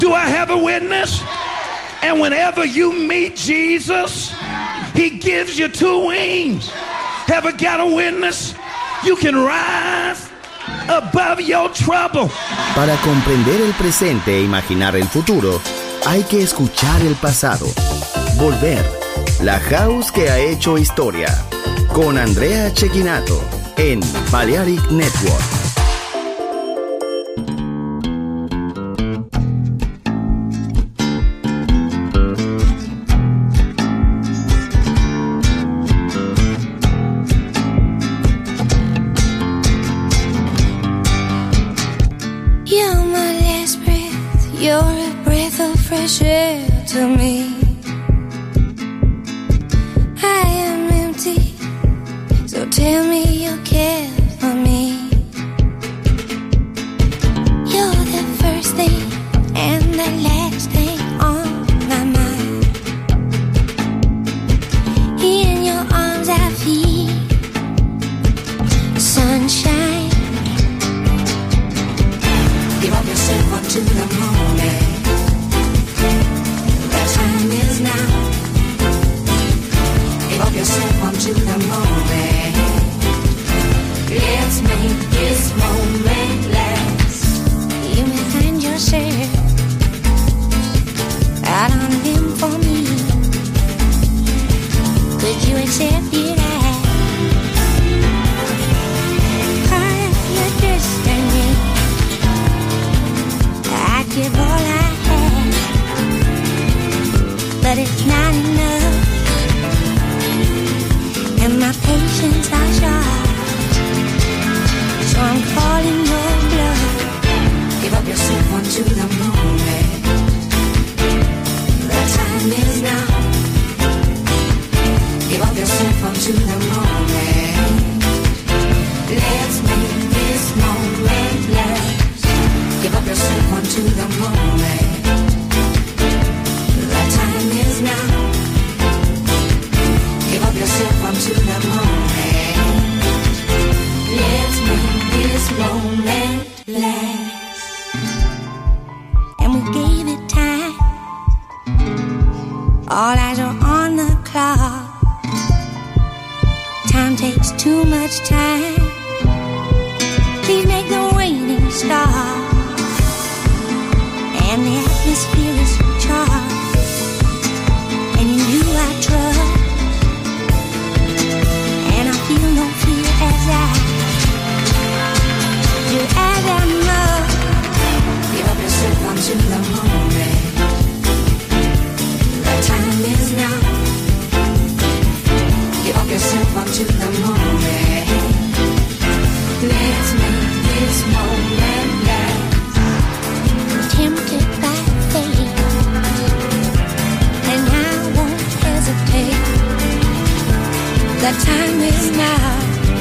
Do I have a witness? And whenever you meet Jesus, he gives you two wings. Have I got a witness? You can rise above your trouble. Para comprender el presente e imaginar el futuro, hay que escuchar el pasado. Volver. La house que ha hecho historia. Con Andrea Cecchinato en Balearic Network. You're my last breath. You're a breath of fresh air to me. I am empty, so tell me you care for me. You're the first thing and the last thing on my mind. In your arms I feel sunshine. Give up yourself unto the moment. The time is now. Give up yourself unto the moment. Let's make this moment last. You may find yourself out on a limb for me. Could you accept it as part of your destiny? I'd give all I have, but it's not enough. And my patience are short, so I'm calling your bluff. Give up yourself unto the moment. The time is now. Give up yourself unto the moment. Let's make this moment last. Give up yourself unto the moment. The time is now. Give up yourself unto the moment. Let's make this moment last. And we gave it time. All eyes are on the clock. Time takes too much time. Please make the waiting stop. And the atmosphere is charged. And in you I trust. And I feel no fear as I do as I must. Give up yourself unto the moment. The time is now. Give up yourself unto the moment. Let's make this moment last. Tempted by fate, and I won't hesitate. The time is now.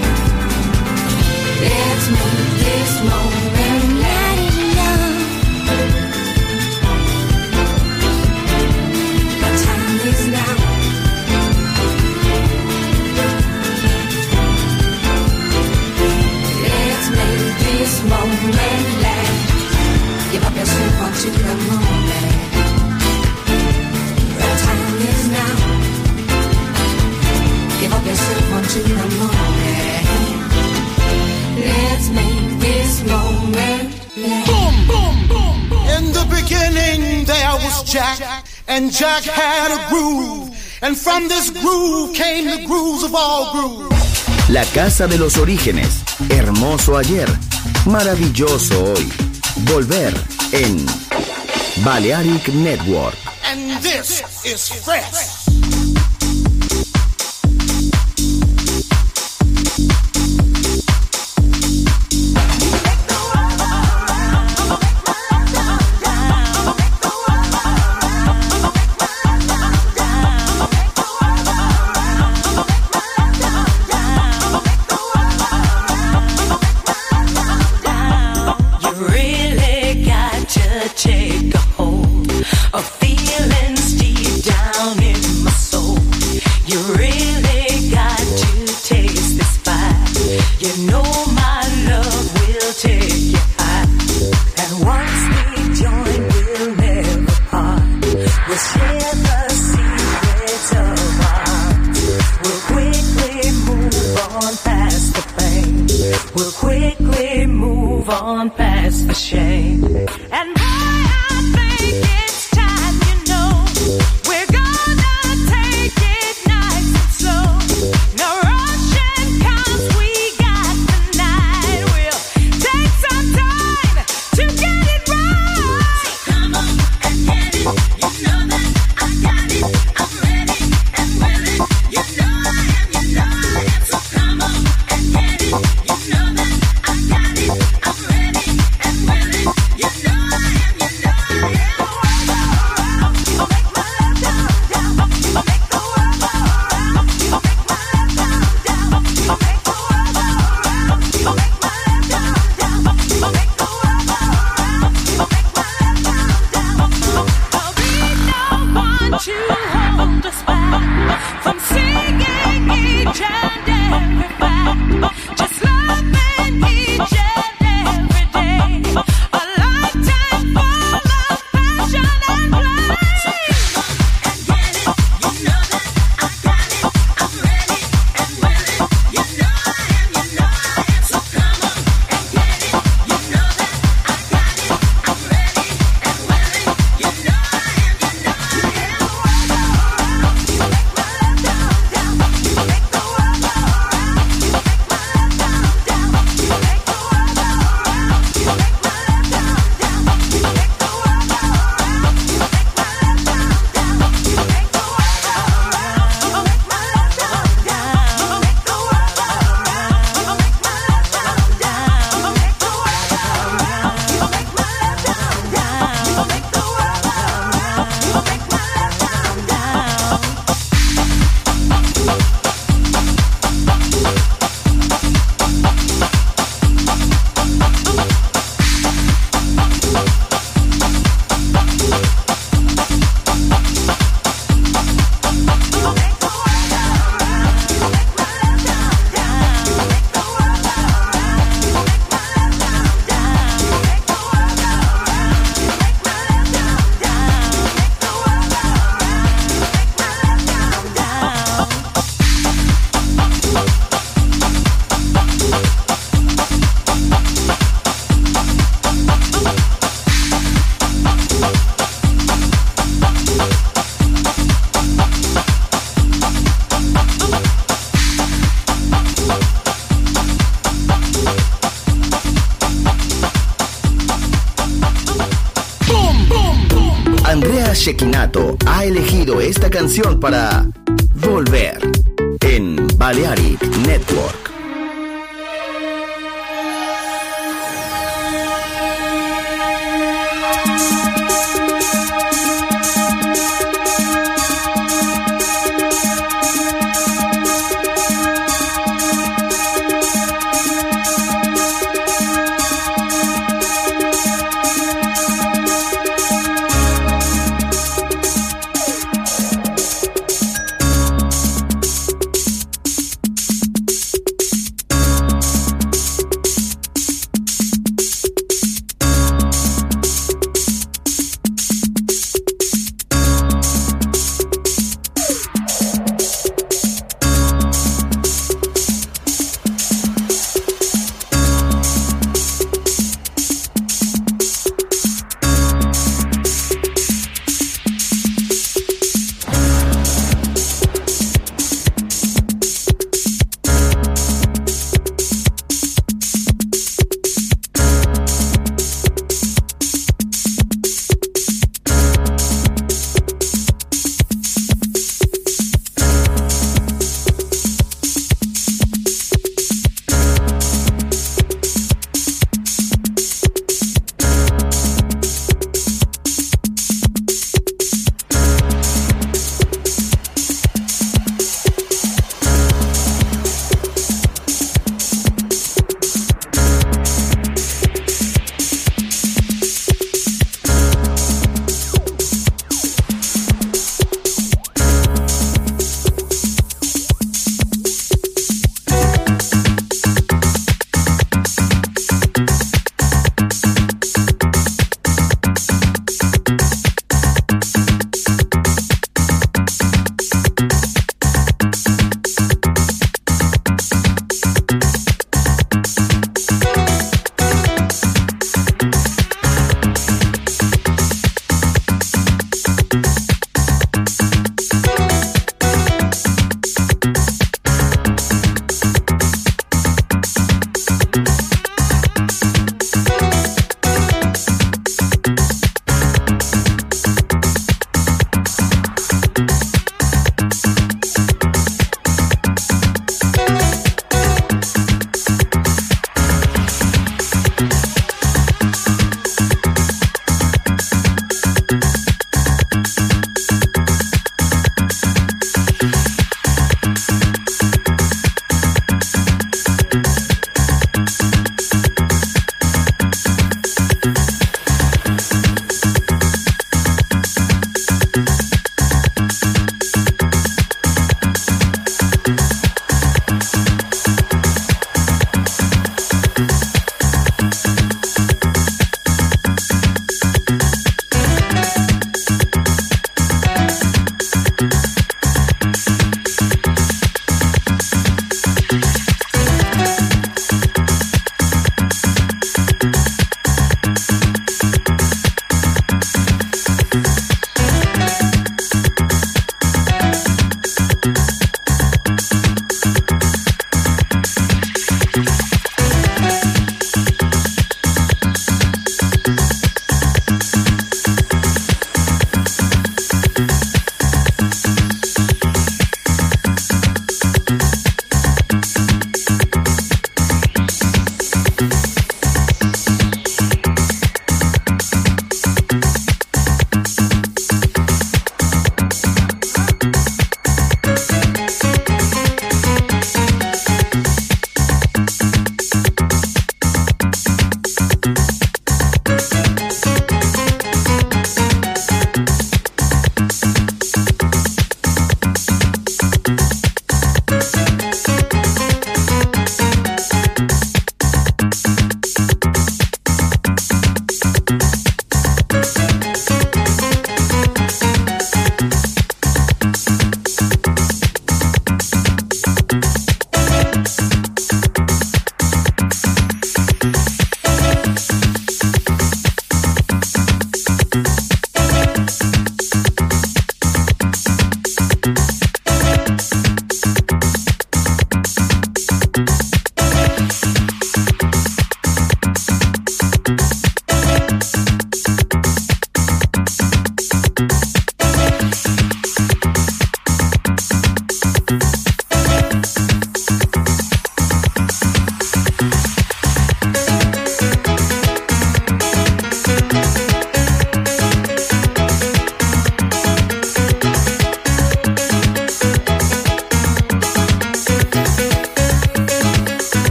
Let's make this moment last. The time is now. Let's make this moment last. Give up yourself unto the moment. The time is now. Give up yourself unto the moment. Let's make this moment last. Boom, boom, boom, boom. In the beginning there was Jack, and Jack had a groove, and from this groove came the grooves of all grooves. La casa de los orígenes. Hermoso ayer, maravilloso hoy. Volver en Balearic Network. And this is fresh. Take a hold of feelings deep down in my soul. You really got to taste this fire. You know my love will take you high. And once we join, we'll never Andrea Cecchinato ha elegido esta canción para volver en Balearic Network.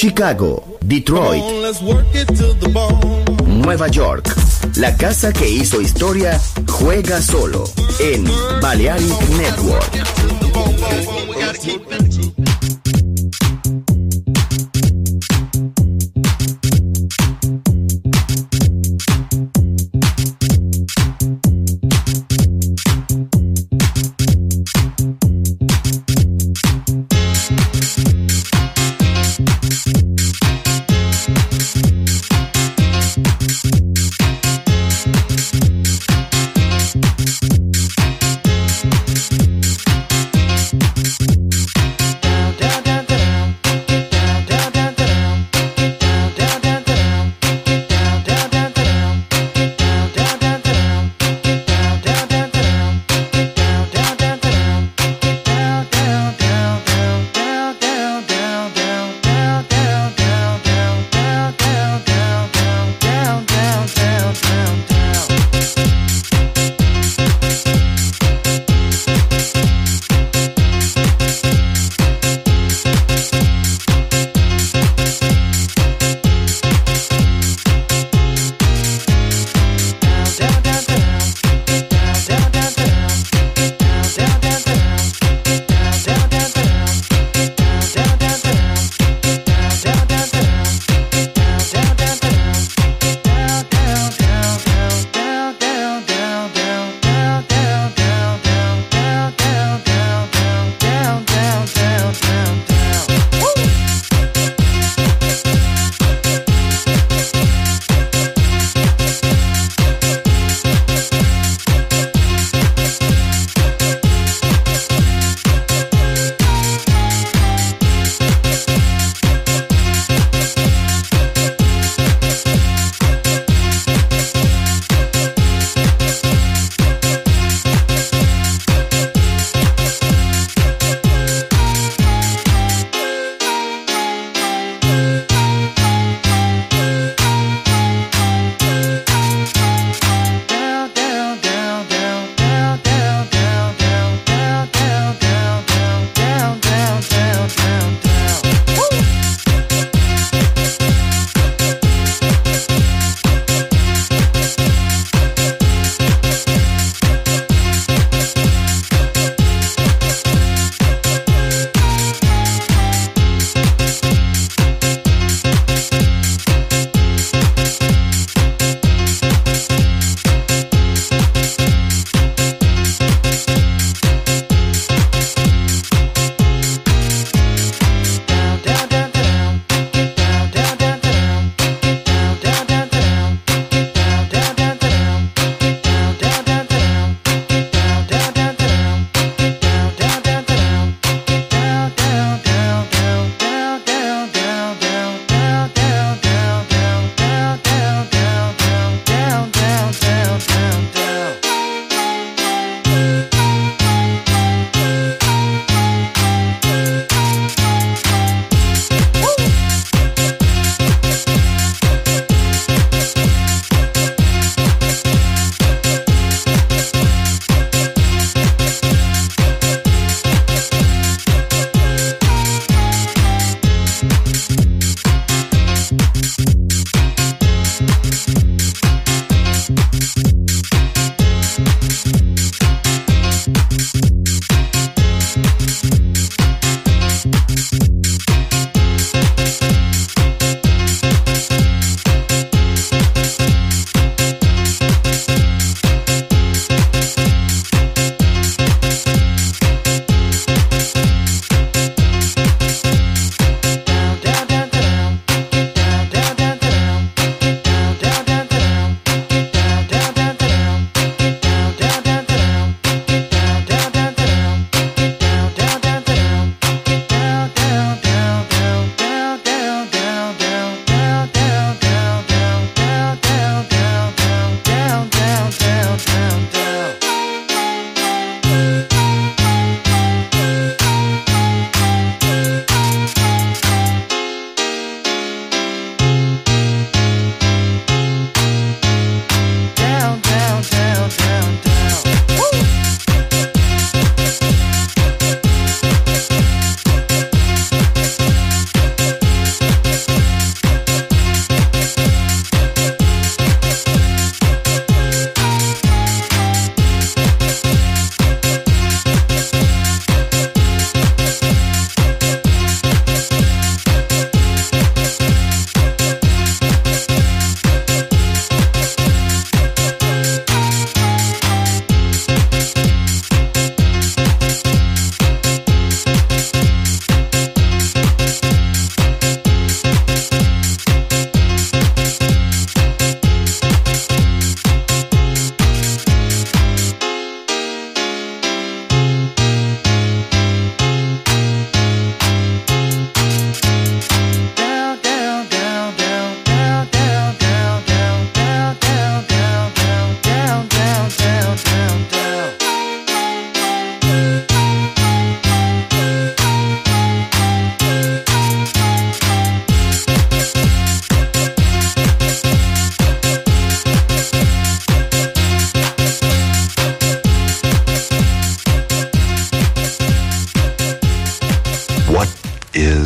Chicago, Detroit, Nueva York. La casa que hizo historia juega solo en Balearic Network.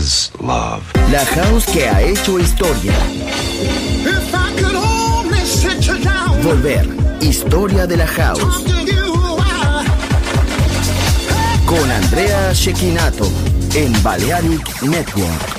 is love. La house que ha hecho historia. If I could only sit you down. Volver. Historia de la house. Con Andrea Cecchinato en Balearic Network.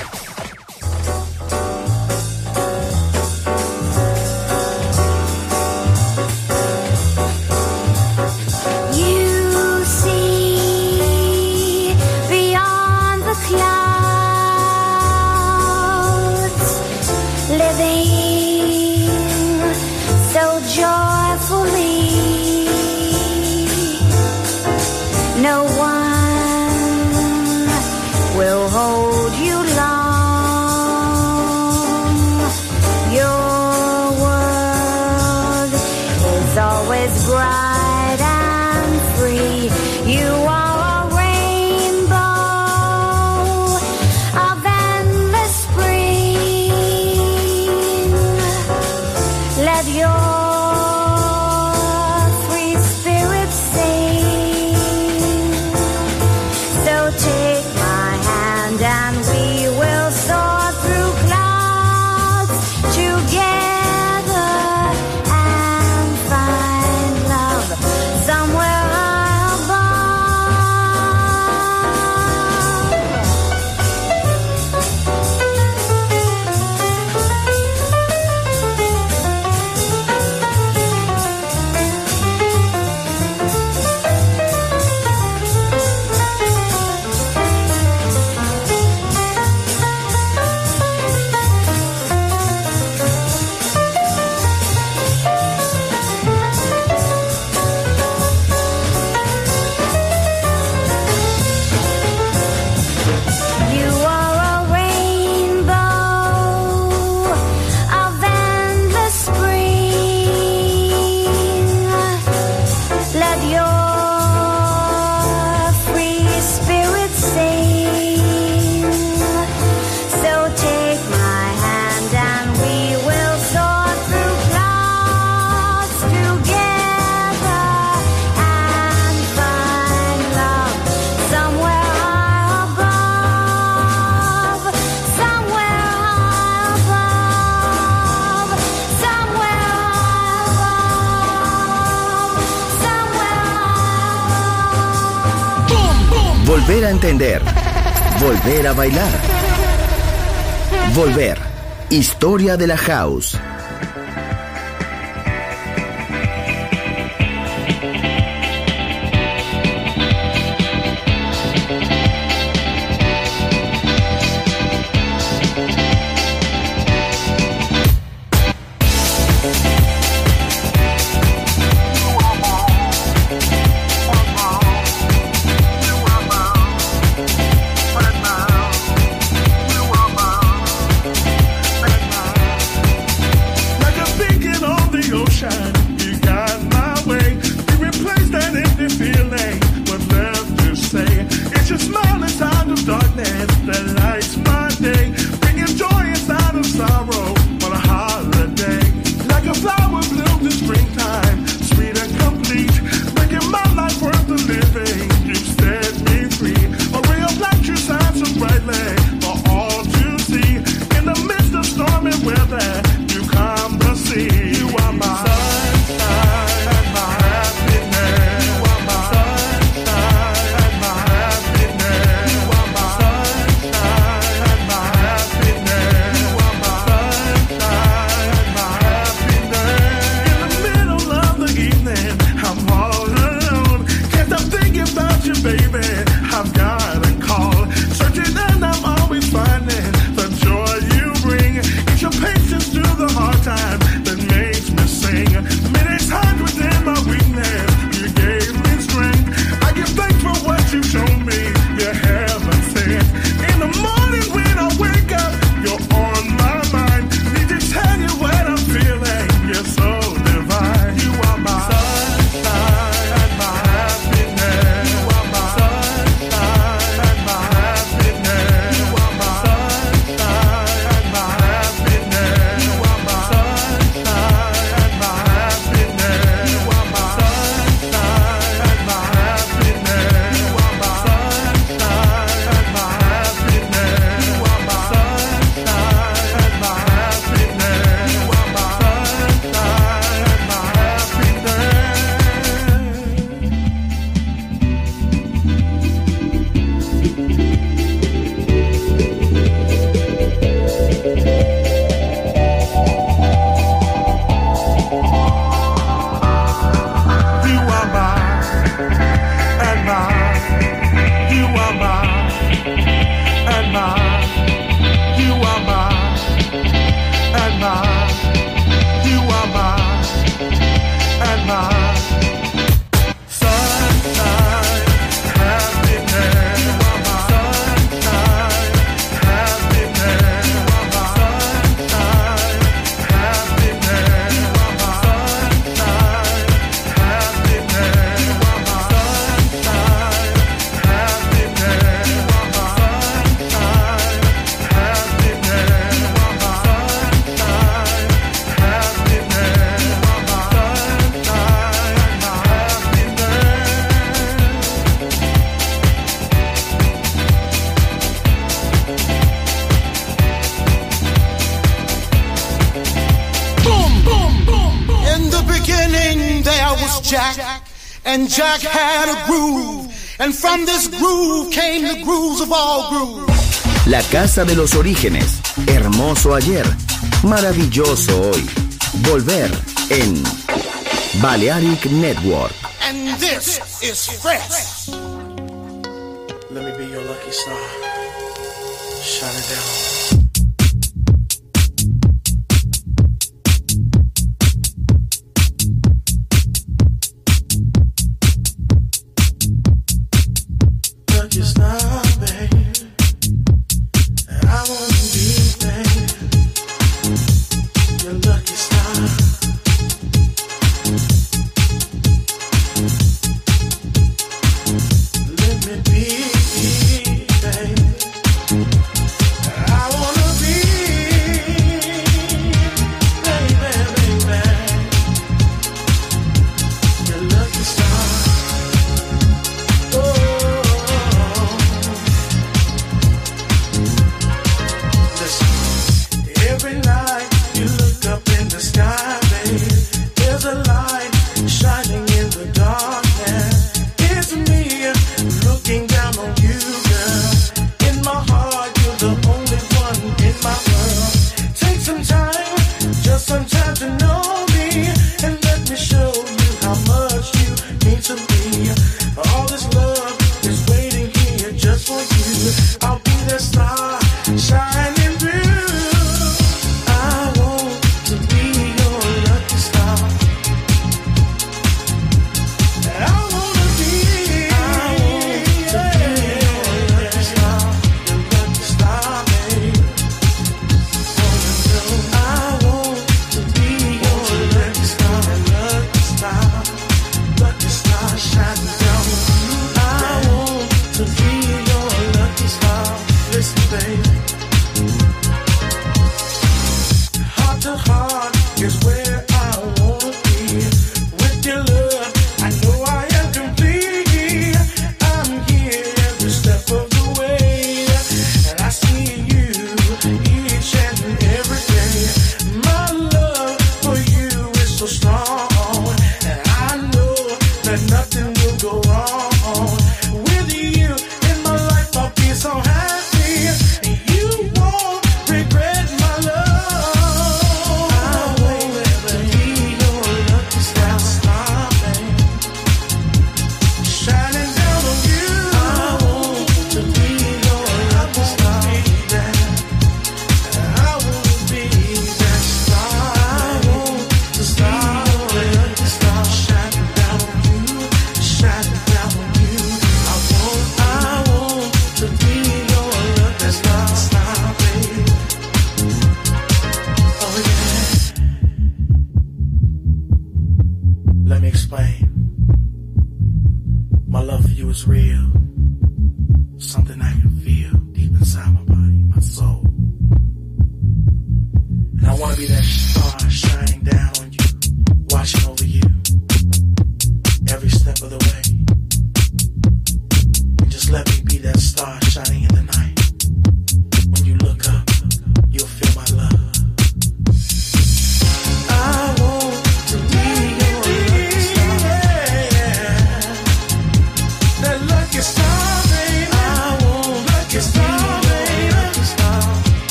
Volver a entender. Volver a bailar. Volver. Historia de la house. Jack, and Jack had a groove, and from this groove came the grooves of all grooves. La casa de los orígenes, hermoso ayer, maravilloso hoy. Volver en Balearic Network. And this is fresh. Let me be your lucky star. Shine it down. Lucky star, baby. I wanna be, baby, your lucky star. Let me be, baby. I wanna be, baby, baby, your lucky star. Oh. Every night you look up in the sky, babe, there's a light shining in the darkness. It's me looking down on you, girl. In my heart, you're the only one in my world. Take some time, just some time to know me, and let me show you how much you mean to me. All this love is waiting here just for you. I'll be the star shining through.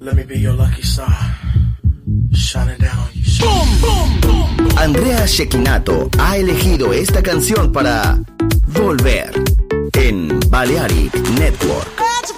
Let me be your lucky star, shining down you. Boom, boom, boom, boom. Andrea Cecchinato ha elegido esta canción para Volver en Balearic Network.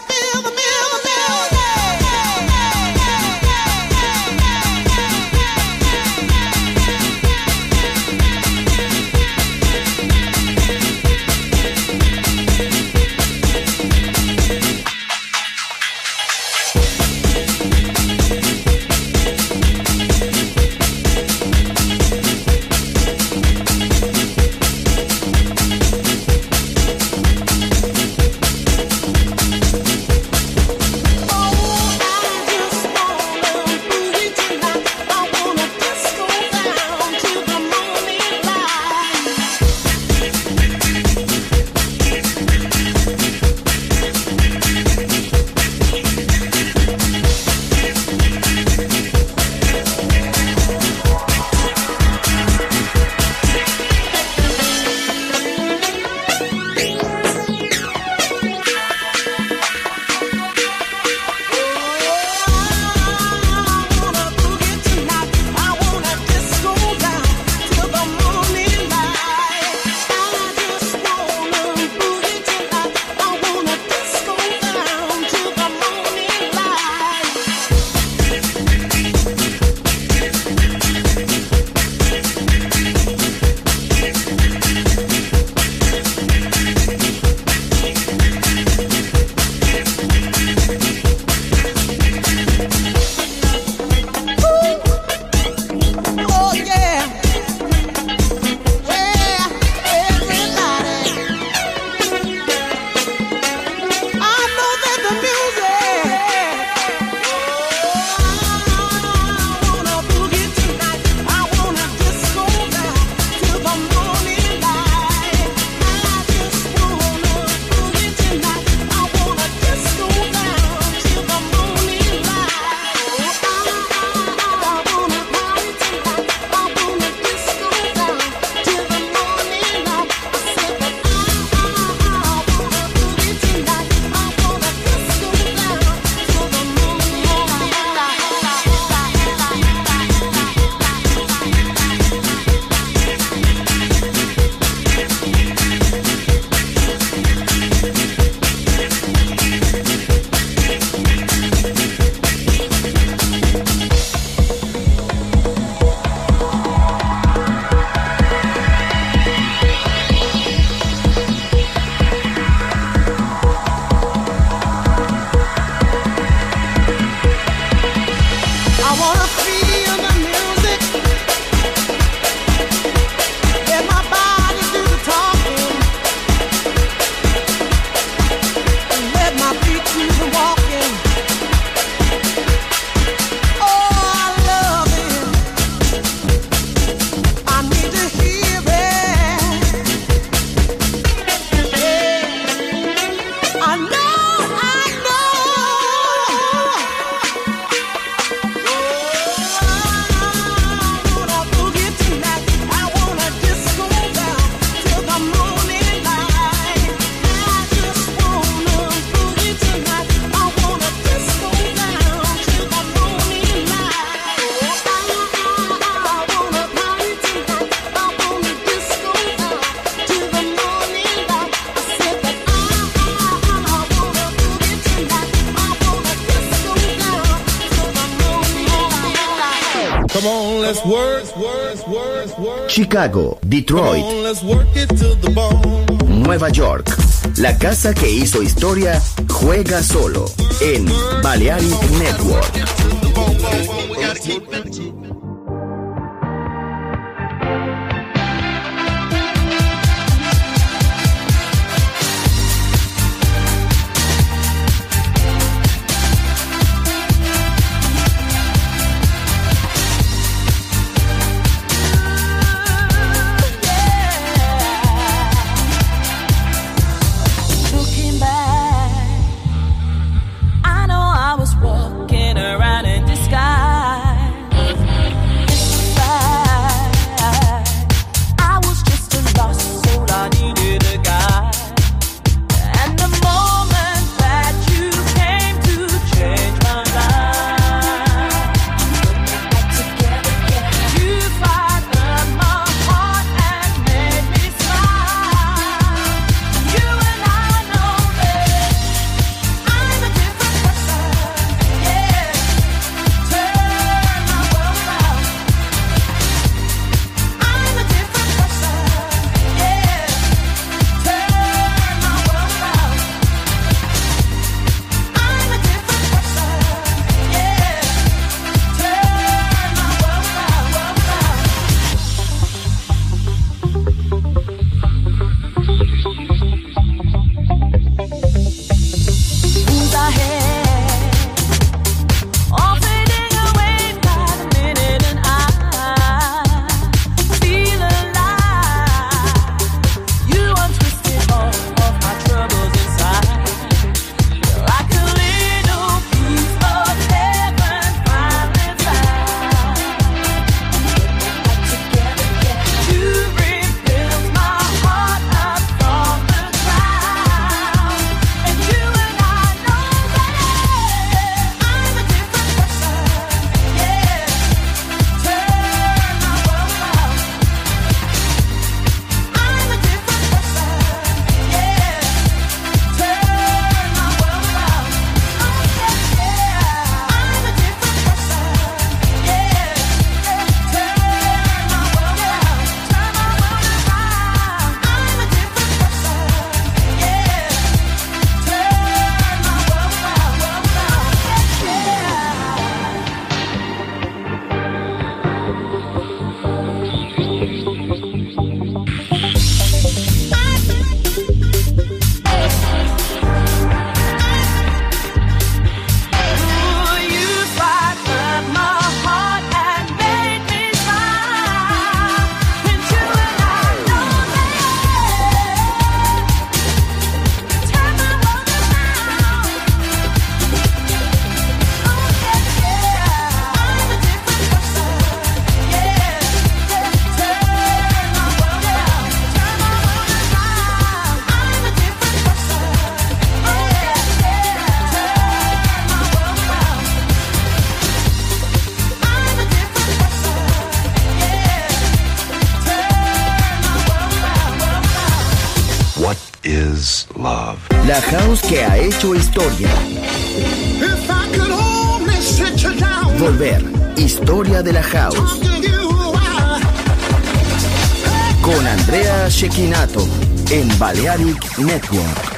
Chicago, Detroit, Nueva York. La casa que hizo historia juega solo en Balearic Network. Walking around in disguise. La house que ha hecho historia. If I could only sit you down. Volver. Historia de la house. Con Andrea Cecchinato en Balearic Network.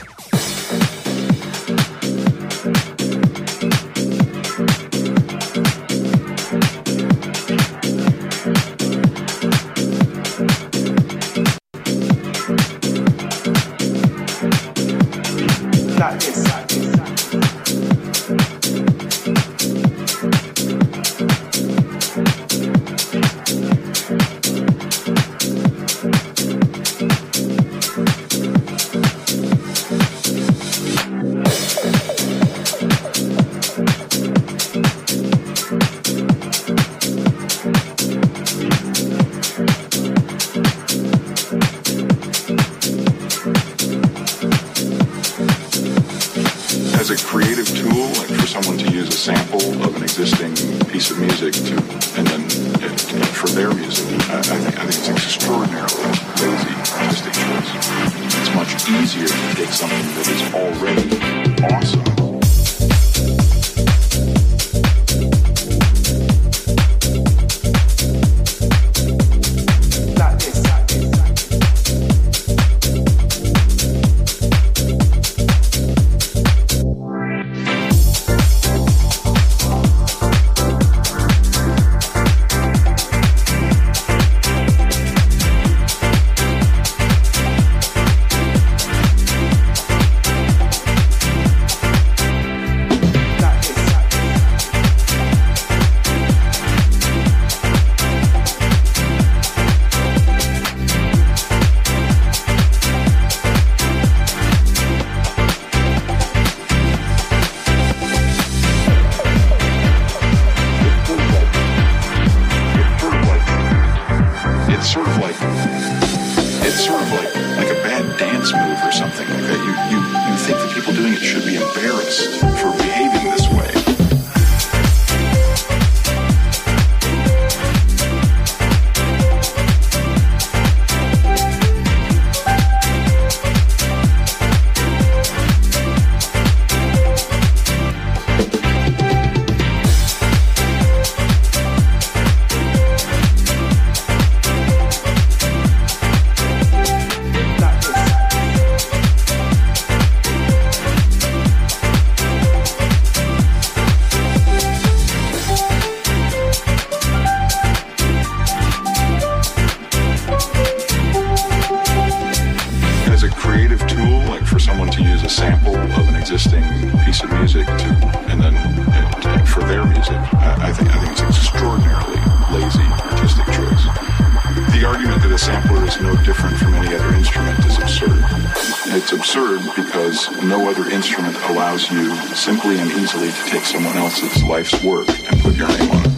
Simply and easily to take someone else's life's work and put your name on it.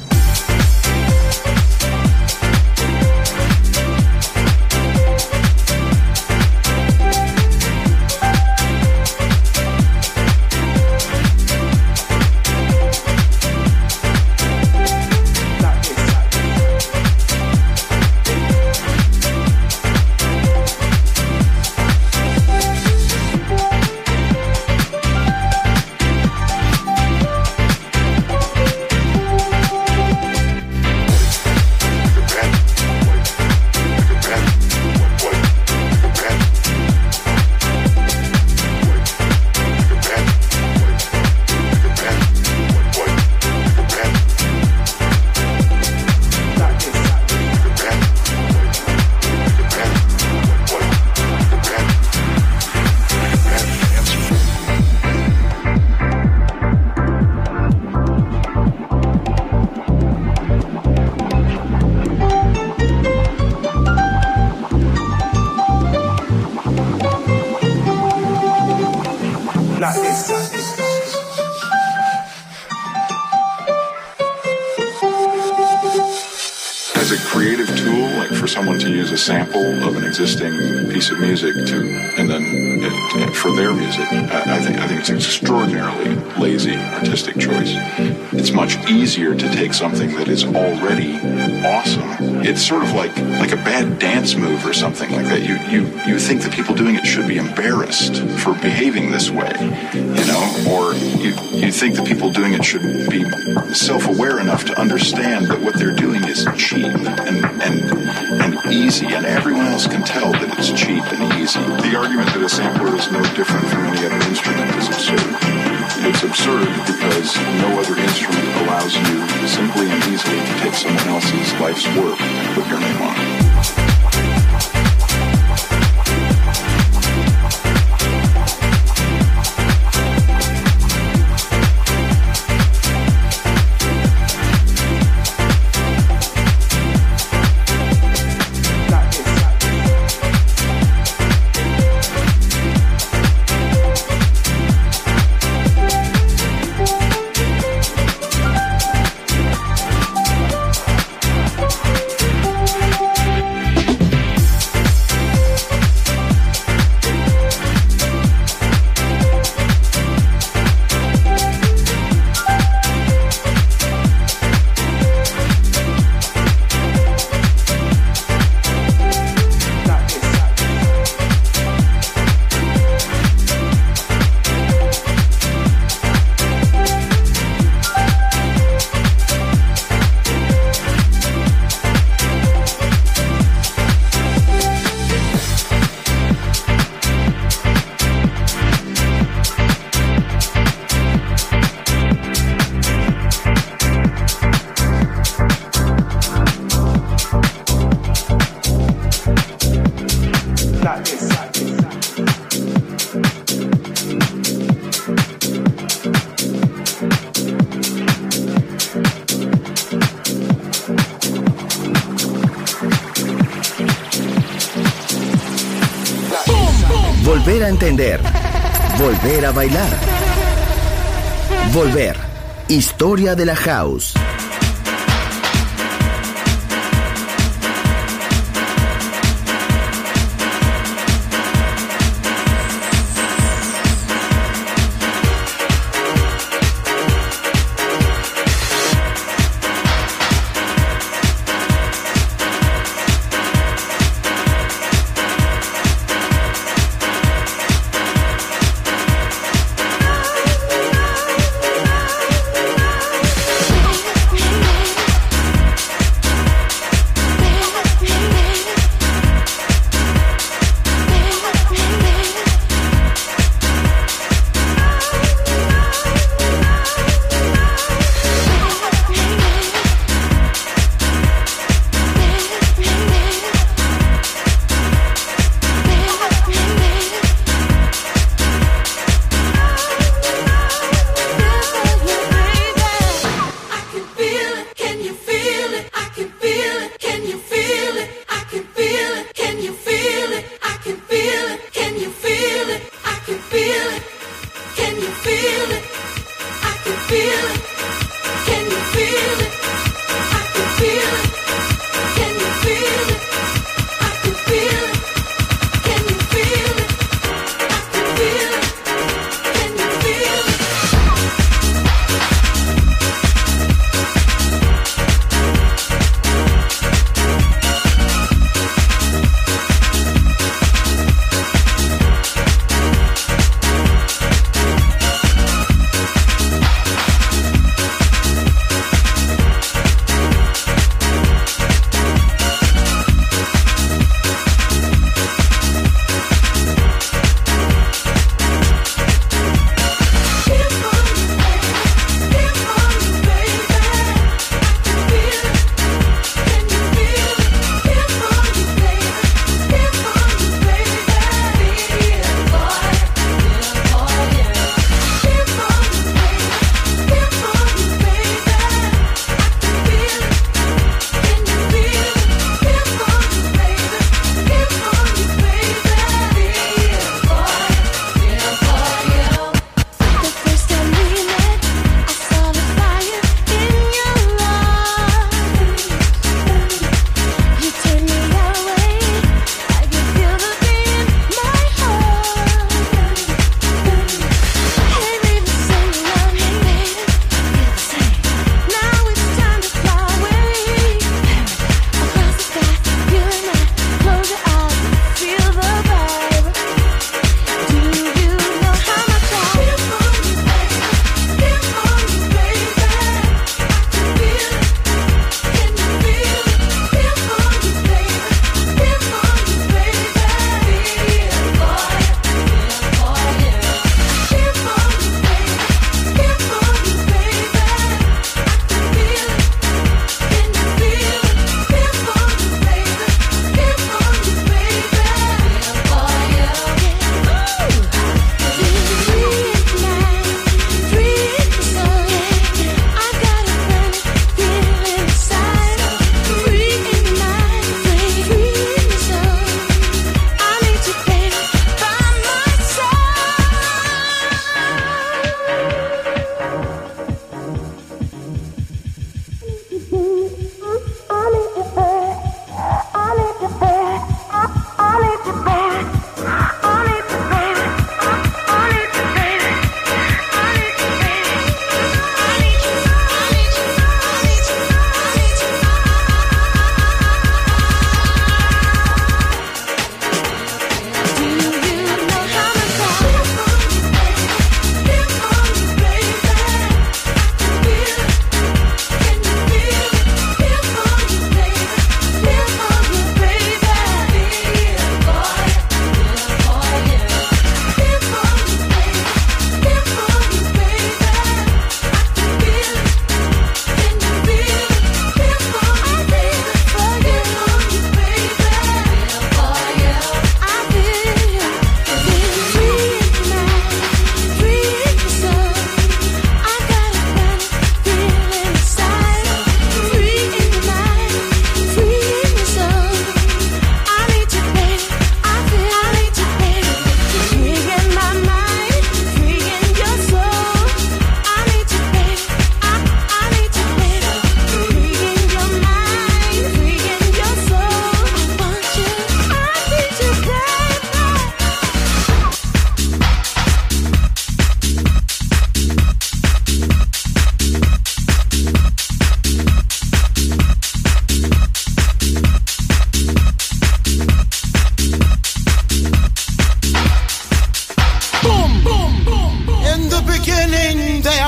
As a creative tool, like for someone to use a sample of an existing piece of music for their music, I think it's an extraordinarily lazy artistic choice. It's much easier to take something that is already awesome. It's sort of like a bad dance move or something like that. You think the people doing it should be embarrassed for behaving this way, or you think the people doing it should be self-aware enough to understand that what they're doing is cheap and easy, and everyone else can tell that it's cheap and easy. The argument that a sampler is no different from any other instrument is absurd. It's absurd because no other instrument allows you simply and easily to take someone else's life's work and put your name on it. Volver a entender. Volver a bailar. Volver. Historia de la house.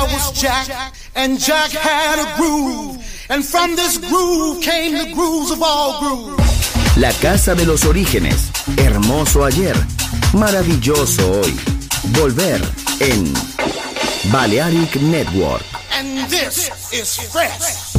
was Jack, and Jack had a groove, and from this groove came the grooves of all grooves. La casa de los orígenes, hermoso ayer, maravilloso hoy. Volver en Balearic Network. And this is fresh.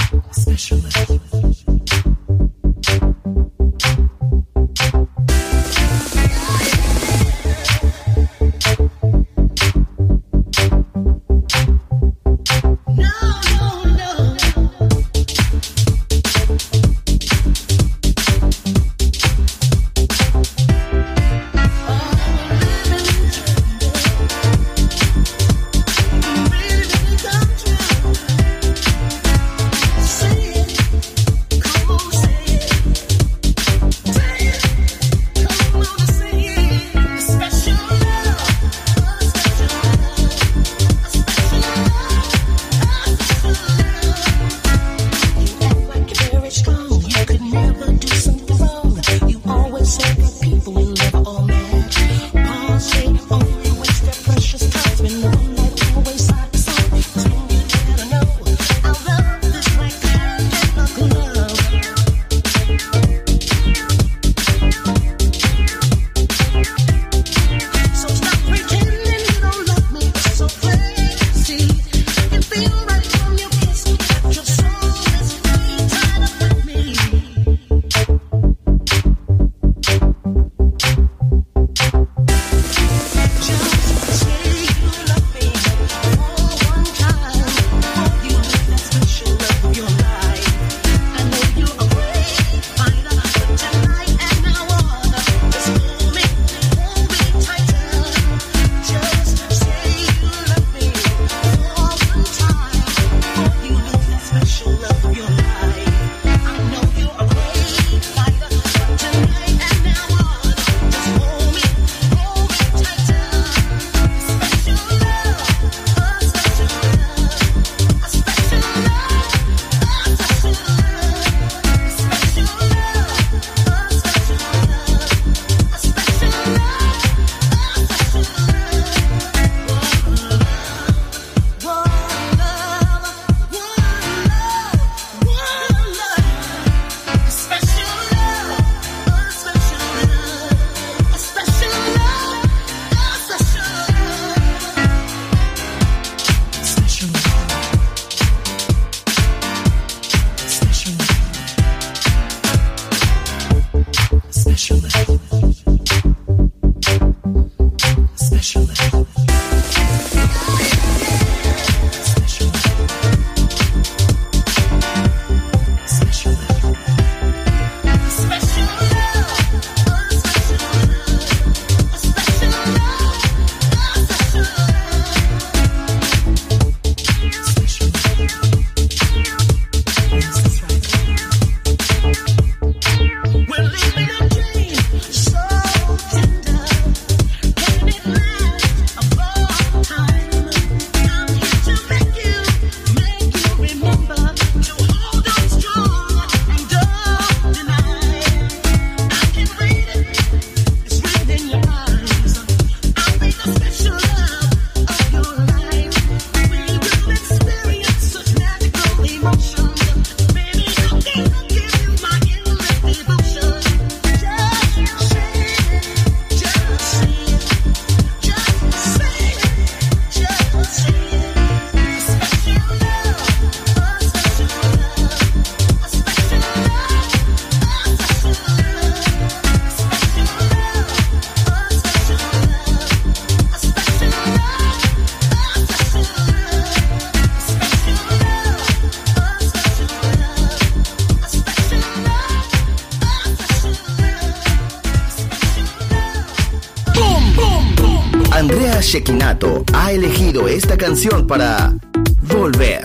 Andrea Cecchinato ha elegido esta canción para Volver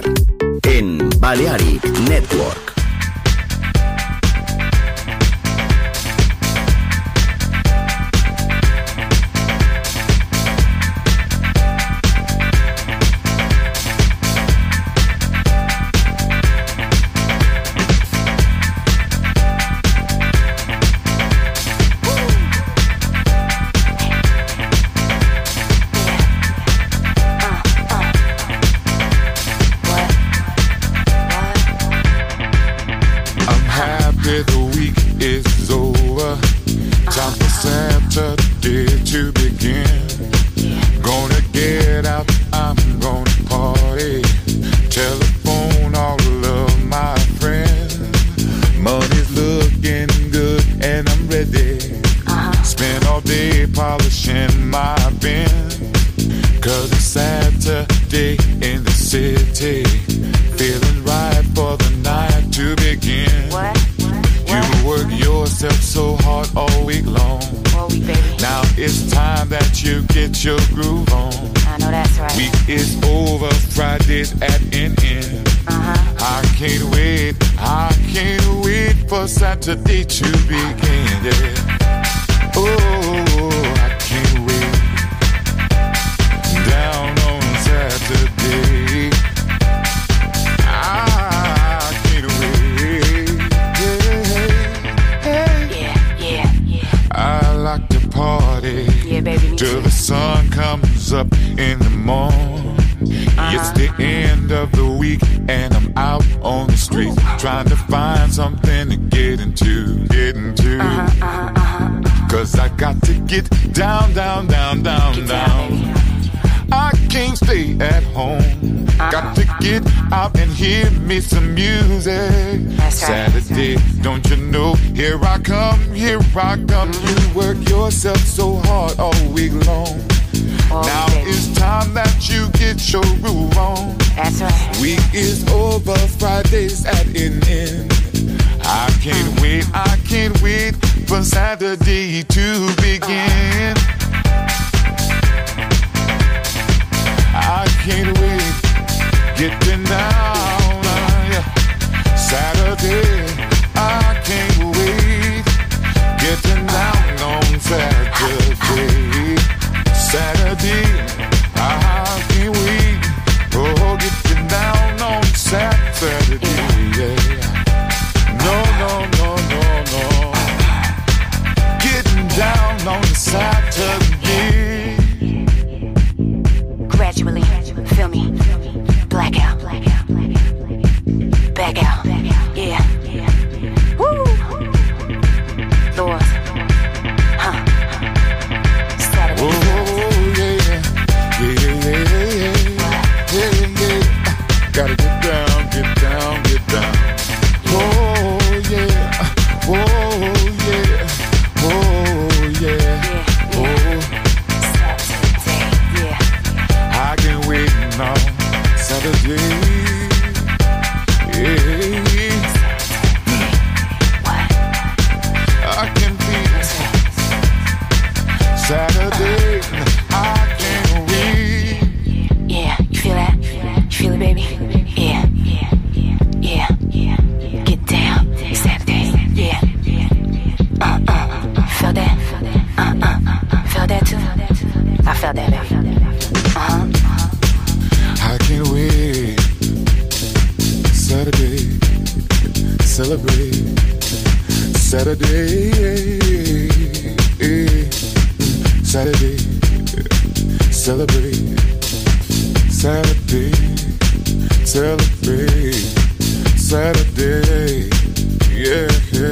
en Balearic Network. Saturday to begin. Gonna get out, I'm gonna party. Telephone all of my friends. Money's looking good and I'm ready. Spend all day polishing my Benz. Cause it's Saturday in the city. Feeling right for the night to begin. You work yourself so hard all week long. Now it's time that you get your groove on. I know that's right. Week is over, Friday's at an end. I can't wait for Saturday to begin. Yeah. Oh, I can't wait. Down on Saturday. I can't wait. Yeah. I like to party. Yeah, baby. Till the sun comes up in the morning. It's the end of the week and I'm out on the street trying to find something to get into. Cause I got to get down. I can't stay at home. Got to get out and hear me some music. Saturday, don't you know? Here I come. You work yourself so hard all week long. Now it's time that you get your groove on. That's right. Week is over, Friday's at an end. I can't wait for Saturday to begin. I can't wait, getting down, Saturday, I can't wait, getting down on Saturday. Saturday, I can't wait, oh, getting down on Saturday, yeah. No, getting down on Saturday. Gradually, feel me, blackout, back out, yeah. Woo! Lord, Saturday. Oh, yeah. Gotta get down. Oh, yeah. I can wait now, Saturday. I can feel Saturday. I can't wait. Yeah, you feel that? You feel it, baby? Yeah. Get down, Saturday. Yeah. Feel that? Feel that too? I felt that, baby. I can't wait. Saturday, celebrate. Saturday, Saturday, celebrate. Saturday, celebrate. Saturday, yeah.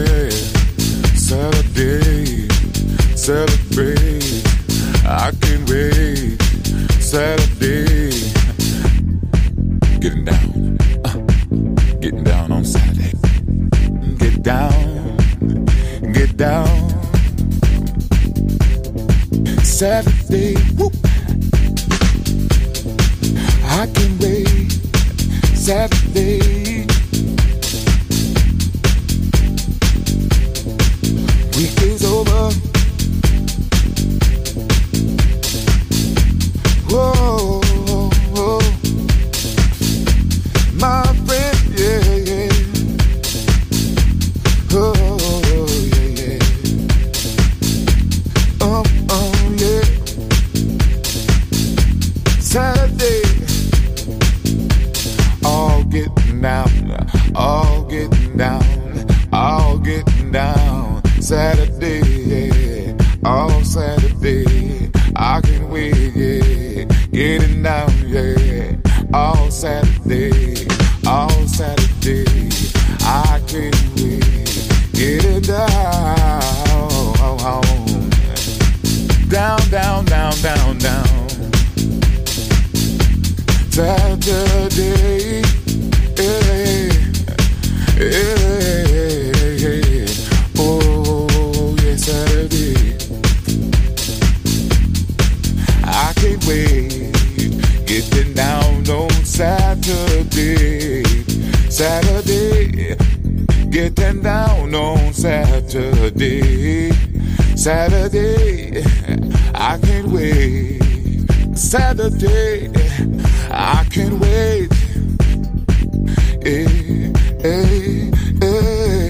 Saturday, celebrate. I can't wait. Saturday, getting down on Saturday. Get down. Saturday, whoop. I can wait. Saturday. Week is over. Whoa. My friend, yeah. Oh, yeah. Yeah. Saturday, all getting down. Saturday, yeah. All Saturday, I can wait, yeah. Getting down, yeah. All Saturday, I can't wait. Getting down, Saturday, getting down on Saturday. Saturday, I can't wait. Saturday, I can't wait. Hey, hey, hey.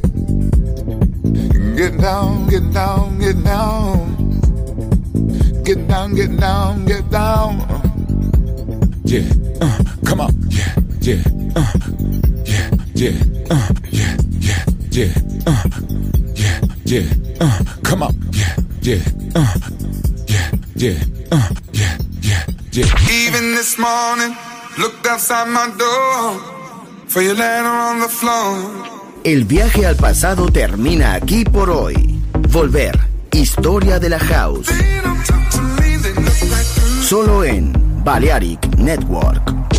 Get down, get down, get down. Get down, get down, get down. Yeah, come on, yeah, yeah, yeah, yeah, yeah, yeah, yeah, yeah, yeah, come on, yeah, yeah, yeah, yeah, yeah, yeah, yeah. Even this morning, looked outside my door for your letter on the floor. El viaje al pasado termina aquí por hoy. Volver, historia de la house. Solo en Balearic Network.